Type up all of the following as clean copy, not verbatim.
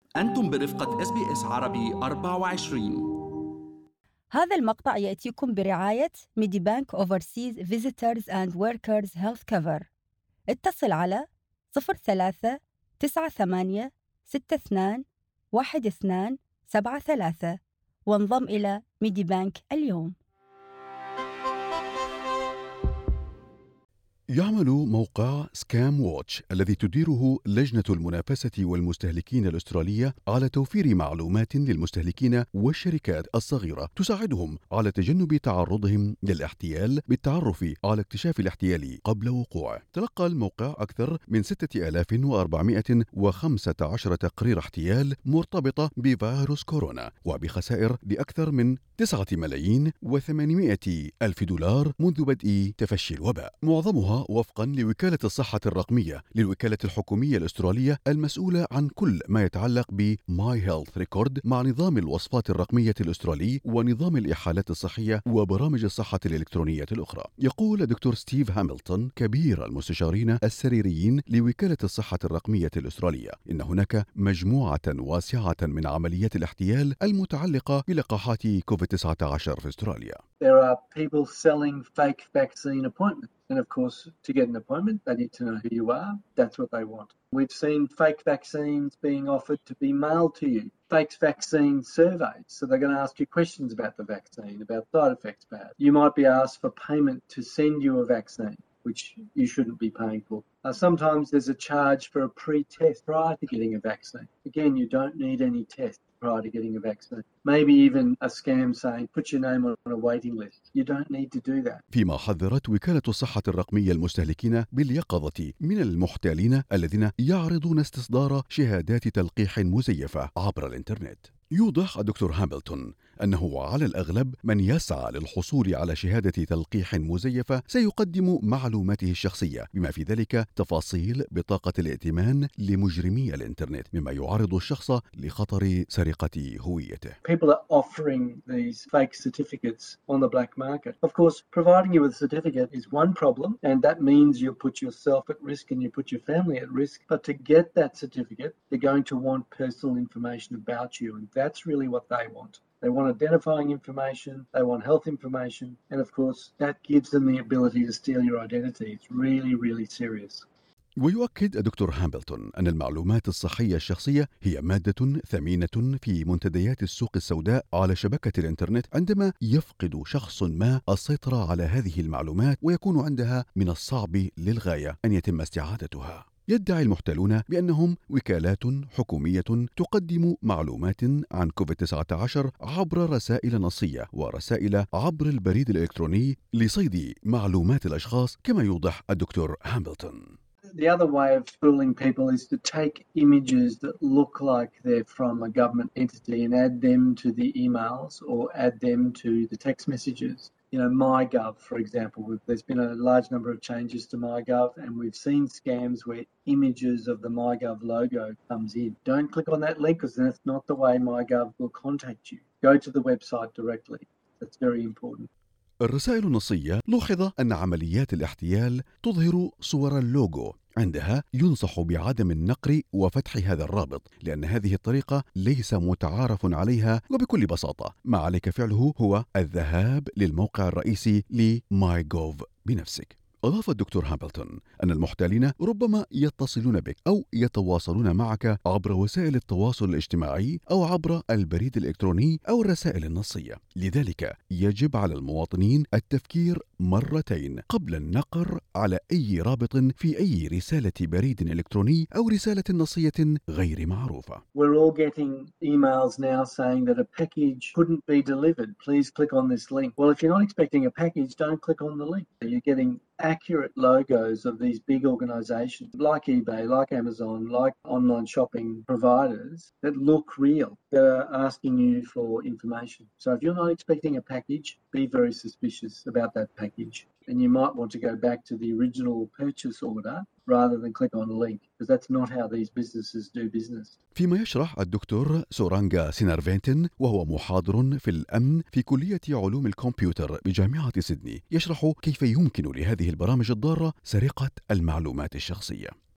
أنتم برفقة SBS عربي 24. هذا المقطع يأتيكم برعاية ميدي بانك Overseas Visitors and Workers Health Cover. اتصل على 03 98 62 1273 وانضم إلى ميدي بانك اليوم. يعمل موقع سكام ووتش الذي تديره لجنة المنافسة والمستهلكين الأسترالية على توفير معلومات للمستهلكين والشركات الصغيرة تساعدهم على تجنب تعرضهم للاحتيال بالتعرف على اكتشاف الاحتيال قبل وقوعه. تلقى الموقع أكثر من 6415 تقرير احتيال مرتبطة بفيروس كورونا وبخسائر لأكثر من 9,800,000 دولار منذ بدء تفشي الوباء، معظمها وفقا لوكالة الصحة الرقمية للوكالة الحكومية الأسترالية المسؤولة عن كل ما يتعلق بماي هيلث ريكورد مع نظام الوصفات الرقمية الأسترالي ونظام الإحالات الصحية وبرامج الصحة الإلكترونية الأخرى. يقول دكتور ستيف هاملتون كبير المستشارين السريريين لوكالة الصحة الرقمية الأسترالية إن هناك مجموعة واسعة من عمليات الاحتيال المتعلقة بلقاحات كوفيد-19 في أستراليا. There are people selling fake vaccine appointments. And of course, to get an appointment, they need to know who you are. That's what they want. We've seen fake vaccines being offered to be mailed to you. Fake vaccine surveys. So they're going to ask you questions about the vaccine, about side effects perhaps. You might be asked for payment to send you a vaccine, which you shouldn't be paying for. Sometimes there's a charge for a pre-test prior to getting a vaccine. Again, you don't need any test prior to getting a vaccine. Maybe even a scam saying, put your name on a waiting list. You don't need to do that. فيما حذرت وكالة الصحة الرقمية المستهلكين باليقظة من المحتالين الذين يعرضون استصدار شهادات تلقيح مزيفة عبر الإنترنت. يوضح الدكتور هاملتون أنه على الأغلب من يسعى للحصول على شهادة تلقيح مزيفة سيقدم معلوماته الشخصية بما في ذلك تفاصيل بطاقة الائتمان لمجرمي الإنترنت مما يعرض الشخص لخطر سرقة هويته. People are offering these fake certificates on the black market. Of course, providing you with a certificate is one problem, and that means you put yourself at risk and you put your family at risk. But to get that certificate, they're going to want personal information about you, and that's really what they want. They want identifying information, they want health information, and of course, that gives them the ability to steal your identity. It's really, really serious. ويؤكد الدكتور هاملتون أن المعلومات الصحية الشخصية هي مادة ثمينة في منتديات السوق السوداء على شبكة الإنترنت عندما يفقد شخص ما السيطرة على هذه المعلومات ويكون عندها من الصعب للغاية أن يتم استعادتها. يدعي المحتالون بأنهم وكالات حكومية تقدم معلومات عن كوفيد-19 عبر رسائل نصية ورسائل عبر البريد الإلكتروني لصيد معلومات الأشخاص كما يوضح الدكتور هاملتون. The other way of fooling people is to take images that look like they're from a government entity and add them to the emails or add them to the text messages. You know, MyGov, for example, there's been a large number of changes to MyGov and we've seen scams where images of the MyGov logo comes in. Don't click on that link because that's not the way MyGov will contact you. Go to the website directly. That's very important. الرسائل النصية لوحظ أن عمليات الاحتيال تظهر صور اللوجو، عندها ينصح بعدم النقر وفتح هذا الرابط لأن هذه الطريقة ليس متعارف عليها وبكل بساطة ما عليك فعله هو الذهاب للموقع الرئيسي لMyGov بنفسك. أضاف الدكتور هاملتون أن المحتالين ربما يتصلون بك أو يتواصلون معك عبر وسائل التواصل الاجتماعي أو عبر البريد الإلكتروني أو الرسائل النصية، لذلك يجب على المواطنين التفكير مرتين قبل النقر على أي رابط في أي رسالة بريد إلكتروني أو رسالة نصية غير معروفة. We're all getting emails now saying that a package couldn't be delivered. Please click on this link. Well, if you're not expecting a package, don't click on the link. You're getting accurate logos of these big organizations like eBay, like Amazon, like online shopping providers that look real, that are asking you for information. So if you're not expecting a package, be very suspicious about that package. And you might want to go back to the original purchase order rather than click on a link, because that's not how these businesses do business. فيما يشرح الدكتور سورانغا سينارفينتن وهو محاضر في الأمن في كلية علوم الكمبيوتر بجامعة سيدني، يشرح كيف يمكن لهذه البرامج الضارة سرقة المعلومات الشخصية.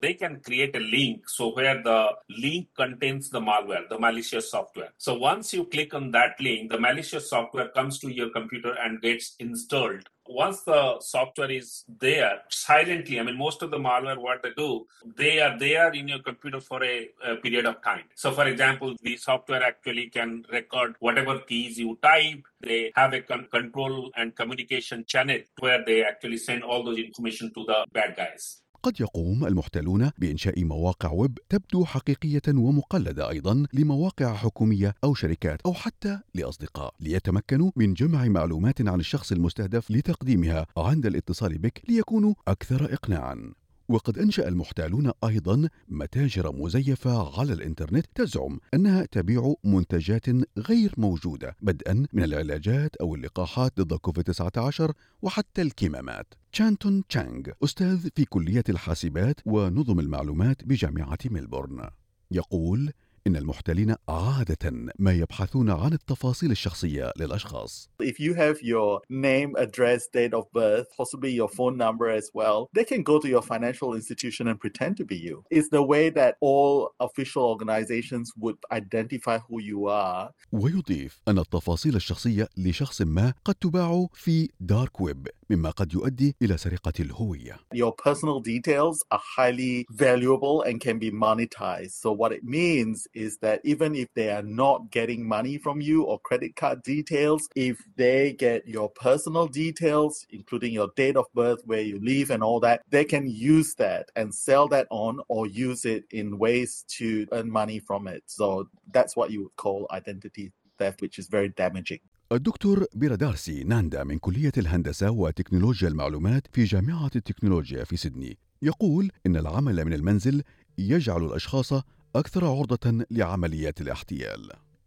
they can create a link where the link contains the malware, the malicious software. So once you click on that link, the malicious software comes to your computer and gets installed. Once the software is there silently, most of the malware, what they do, they are there in your computer for a period of time. So for example, the software actually can record whatever keys you type. They have a control and communication channel where they actually send all those information to the bad guys. قد يقوم المحتالون بإنشاء مواقع ويب تبدو حقيقية ومقلدة أيضا لمواقع حكومية أو شركات أو حتى لأصدقاء، ليتمكنوا من جمع معلومات عن الشخص المستهدف لتقديمها عند الاتصال بك ليكونوا أكثر إقناعا. وقد أنشأ المحتالون أيضا متاجر مزيفة على الإنترنت تزعم أنها تبيع منتجات غير موجودة، بدءا من العلاجات أو اللقاحات ضد كوفيد-19 وحتى الكمامات. تشانتون تشانغ أستاذ في كلية الحاسبات ونظم المعلومات بجامعة ميلبورن يقول إن المحتالين عادة ما يبحثون عن التفاصيل الشخصية للأشخاص. If you have your name, address, date of birth, possibly your phone number as well, they can go to your financial institution and pretend to be you. It's the way that all official organizations would identify who you are. ويضيف أن التفاصيل الشخصية لشخص ما قد تباع في دارك ويب، مما قد يؤدي إلى سرقة الهوية. Your personal details are highly valuable and can be monetized. So what it means is that even if they are not getting money from you or credit card details, if they get your personal details, including your date of birth, where you live and all that, they can use that and sell that on or use it in ways to earn money from it. So that's what you would call identity theft, which is very damaging. الدكتور بيرادارسي ناندا من كلية الهندسة وتكنولوجيا المعلومات في جامعة التكنولوجيا في سيدني يقول إن العمل من المنزل يجعل الأشخاص أكثر عرضة لعمليات الاحتيال.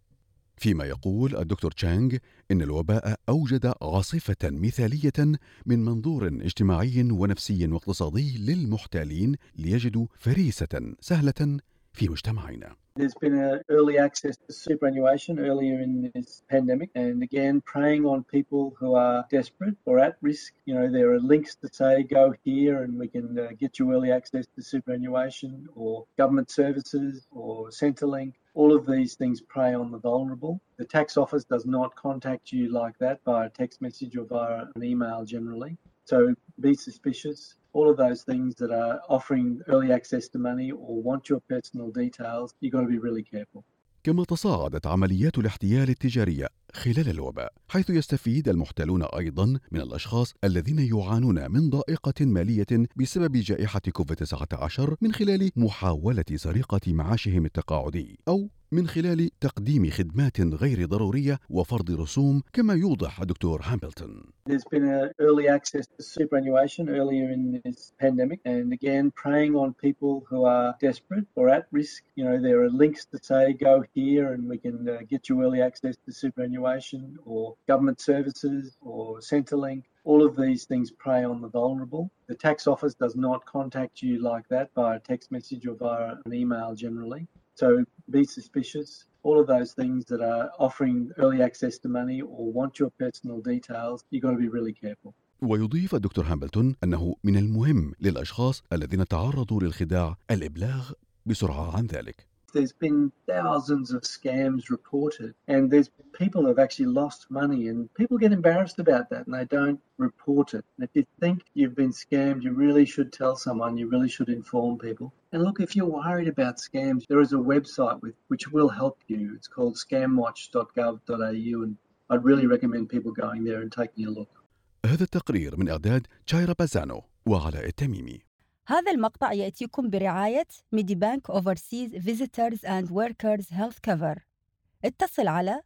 فيما يقول الدكتور تشانغ إن الوباء أوجد عاصفة مثالية من منظور اجتماعي ونفسي واقتصادي للمحتالين ليجدوا فريسة سهلة في مجتمعنا. There's been an early access to superannuation earlier in this pandemic, and again, preying on people who are desperate or at risk. There are links to say, go here and we can get you early access to superannuation or government services or Centrelink. All of these things prey on the vulnerable. The tax office does not contact you like that via text message or via an email generally. So be suspicious. All of those things that are offering early access to money or want your personal details, you've got to be really careful. كما تصاعدت عمليات الاحتيال التجارية خلال الوباء، حيث يستفيد المحتالون أيضا من الأشخاص الذين يعانون من ضائقة مالية بسبب جائحة كوفيد-19 من خلال محاولة سرقة معاشهم التقاعدي أو من خلال تقديم خدمات غير ضرورية وفرض رسوم، كما يوضح الدكتور هامبلتون. There's been an early access to superannuation earlier in this pandemic, and again, preying on people who are desperate or at risk. There are links to say, go here and we can get you early access to superannuation or government services or Centrelink. All of these things prey on the vulnerable. The tax office does not contact you like that via text message or via an email generally. So be suspicious. All of those things that are offering early access to money or want your personal details, you've got to be really careful. ويضيف الدكتور هامبلتون أنه من المهم للأشخاص الذين تعرضوا للخداع الإبلاغ بسرعة عن ذلك. There's been thousands of scams reported, and there's people who have actually lost money, and people get embarrassed about that and they don't report it. And if you think you've been scammed, you really should tell someone, you really should inform people. And look, if you're worried about scams, there is a website which will help you. It's called scamwatch.gov.au, and I'd really recommend people going there and taking a look. هذا التقرير من إعداد تشايرا بازانو وعلاء التميمي. هذا المقطع يأتيكم برعاية ميدي بانك Overseas Visitors and Workers Health Cover. اتصل على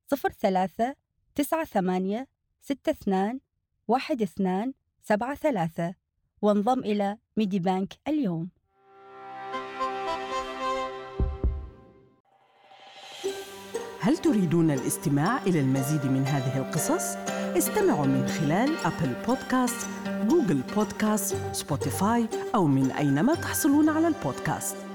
03-9862-1273 وانضم إلى ميدي بانك اليوم. هل تريدون الاستماع إلى المزيد من هذه القصص؟ استمعوا من خلال أبل بودكاست، جوجل بودكاست، سبوتيفاي أو من أينما تحصلون على البودكاست.